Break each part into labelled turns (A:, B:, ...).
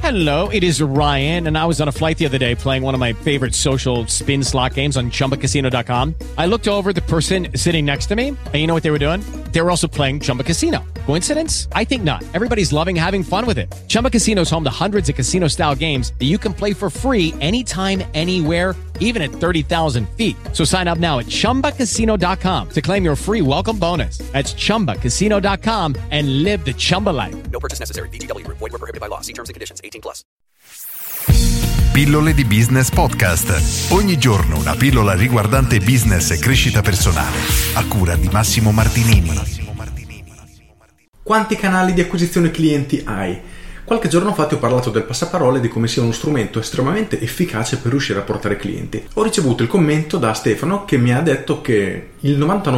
A: Hello, it is Ryan, and I was on a flight the other day playing one of my favorite social spin slot games on ChumbaCasino.com. I looked over at the person sitting next to me, and you know what they were doing? They were also playing Chumba Casino. Coincidence? I think not. Everybody's loving having fun with it. Chumba Casino is home to hundreds of casino-style games that you can play for free anytime, anywhere, even at 30,000 feet. So sign up now at ChumbaCasino.com to claim your free welcome bonus. That's ChumbaCasino.com and live the Chumba life.
B: No purchase necessary. VGW. Void were prohibited by law. See terms and conditions. 18+.
C: Pillole di Business Podcast. Ogni giorno una pillola riguardante business e crescita personale. A cura di Massimo Martinini.
D: Quanti canali di acquisizione clienti hai? Qualche giorno fa ti ho parlato del passaparole e di come sia uno strumento estremamente efficace per riuscire a portare clienti. Ho ricevuto il commento da Stefano che mi ha detto che il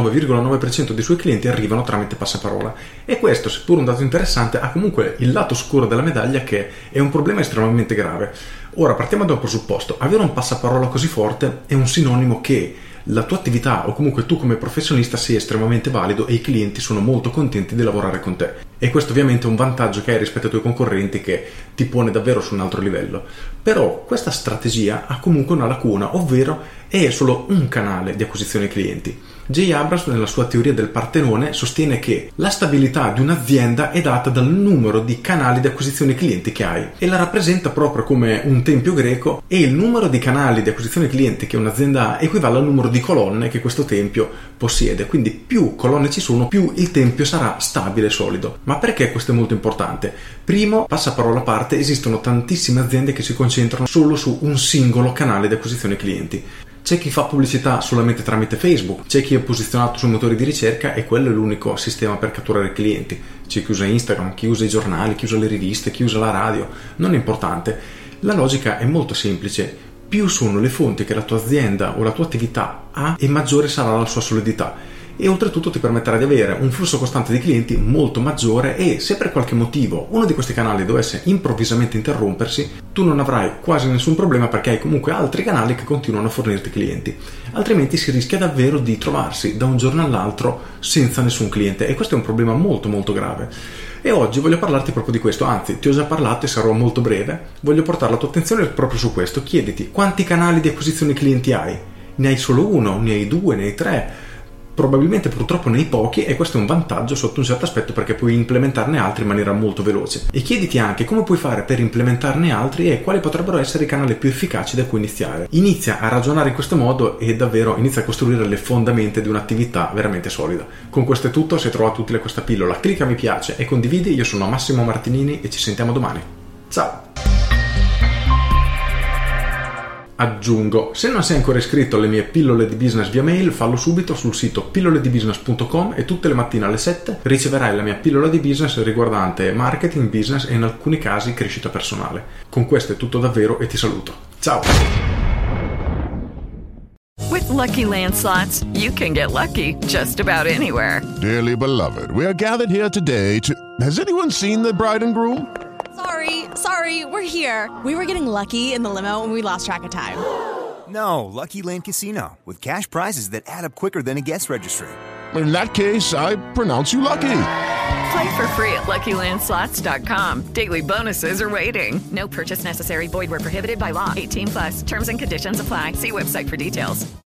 D: 99,9% dei suoi clienti arrivano tramite passaparola, e questo, seppur un dato interessante, ha comunque il lato scuro della medaglia, che è un problema estremamente grave. Ora partiamo da un presupposto: avere un passaparola così forte è un sinonimo che la tua attività, o comunque tu come professionista, sei estremamente valido e i clienti sono molto contenti di lavorare con te, e questo ovviamente è un vantaggio che hai rispetto ai tuoi concorrenti, che ti pone davvero su un altro livello. Però questa strategia ha comunque una lacuna, ovvero è solo un canale di acquisizione clienti. Jay Abrams, nella sua teoria del Partenone, sostiene che la stabilità di un'azienda è data dal numero di canali di acquisizione clienti che hai, e la rappresenta proprio come un tempio greco, e il numero di canali di acquisizione clienti che un'azienda ha equivale al numero di colonne che questo tempio possiede. Quindi più colonne ci sono, più il tempio sarà stabile e solido. Ma perché questo è molto importante? Primo, passaparola a parte, esistono tantissime aziende che si concentrano solo su un singolo canale di acquisizione clienti. C'è chi fa pubblicità solamente tramite Facebook, c'è chi è posizionato sui motori di ricerca e quello è l'unico sistema per catturare clienti, c'è chi usa Instagram, chi usa i giornali, chi usa le riviste, chi usa la radio. Non è importante. La logica è molto semplice: più sono le fonti che la tua azienda o la tua attività ha, e maggiore sarà la sua solidità, e oltretutto ti permetterà di avere un flusso costante di clienti molto maggiore, e se per qualche motivo uno di questi canali dovesse improvvisamente interrompersi, tu non avrai quasi nessun problema, perché hai comunque altri canali che continuano a fornirti clienti. Altrimenti si rischia davvero di trovarsi da un giorno all'altro senza nessun cliente, e questo è un problema molto molto grave. E oggi voglio parlarti proprio di questo, anzi ti ho già parlato e sarò molto breve. Voglio portare la tua attenzione proprio su questo. Chiediti: quanti canali di acquisizione clienti hai? Ne hai solo uno? Ne hai due? Ne hai tre? Probabilmente purtroppo ne hai pochi, e questo è un vantaggio sotto un certo aspetto, perché puoi implementarne altri in maniera molto veloce. E chiediti anche come puoi fare per implementarne altri e quali potrebbero essere i canali più efficaci da cui iniziare. Inizia a ragionare in questo modo e davvero inizia a costruire le fondamenta di un'attività veramente solida. Con questo è tutto. Se hai trovato utile questa pillola, clicca mi piace e condividi. Io sono Massimo Martinini e ci sentiamo domani. Ciao! Aggiungo, se non sei ancora iscritto alle mie pillole di business via mail, fallo subito sul sito pilloledibusiness.com, e tutte le mattine alle 7 riceverai la mia pillola di business riguardante marketing, business e in alcuni casi crescita personale. Con questo è tutto davvero e ti saluto. Ciao!
E: With Lucky Land Slots, you can get lucky just about anywhere.
F: Dearly beloved, we are gathered here today to... Has anyone seen the bride and groom?
G: Sorry, we're here. We were getting lucky in the limo and we lost track of time.
H: No, Lucky Land Casino, with cash prizes that add up quicker than a guest registry.
F: In that case, I pronounce you lucky.
E: Play for free at LuckyLandSlots.com. Daily bonuses are waiting. No purchase necessary. Void where prohibited by law. 18+. Terms and conditions apply. See website for details.